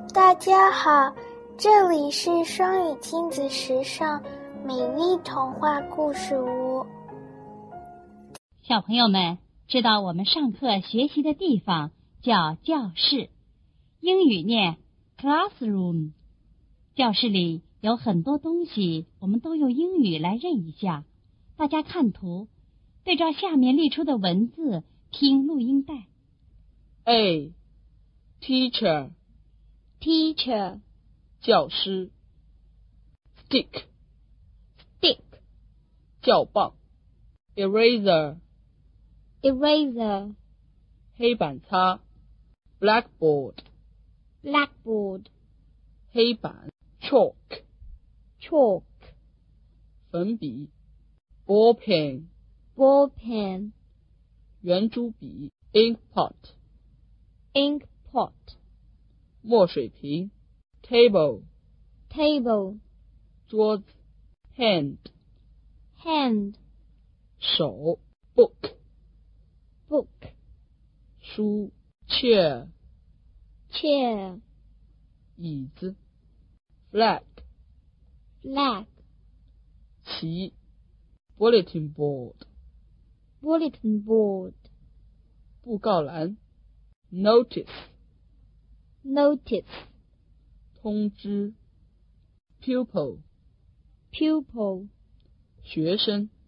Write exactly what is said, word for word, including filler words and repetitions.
大家好，这里是双语亲子时尚美丽童话故事屋。 小朋友们知道我们上课学习的地方叫教室，英语念 classroom。 教室里有很多东西，我们都用英语来认一下。大家看图，对照下面列出的文字，听录音带。 A. Teacher Teacher 教师 Stick Stick 教棒 Eraser Eraser 黑板擦 Blackboard Blackboard 黑板 Chalk Chalk 粉笔 Ball pen Ball pen 圆珠笔 Ink pot Ink pot 墨水瓶 Table Table 桌子 Hand Hand 手 Book Book 书 Chair Chair 椅子 Flag Flag 旗 Bulletin board Bulletin board 布告栏 Notice Notice 通知 Pupil Pupil 学生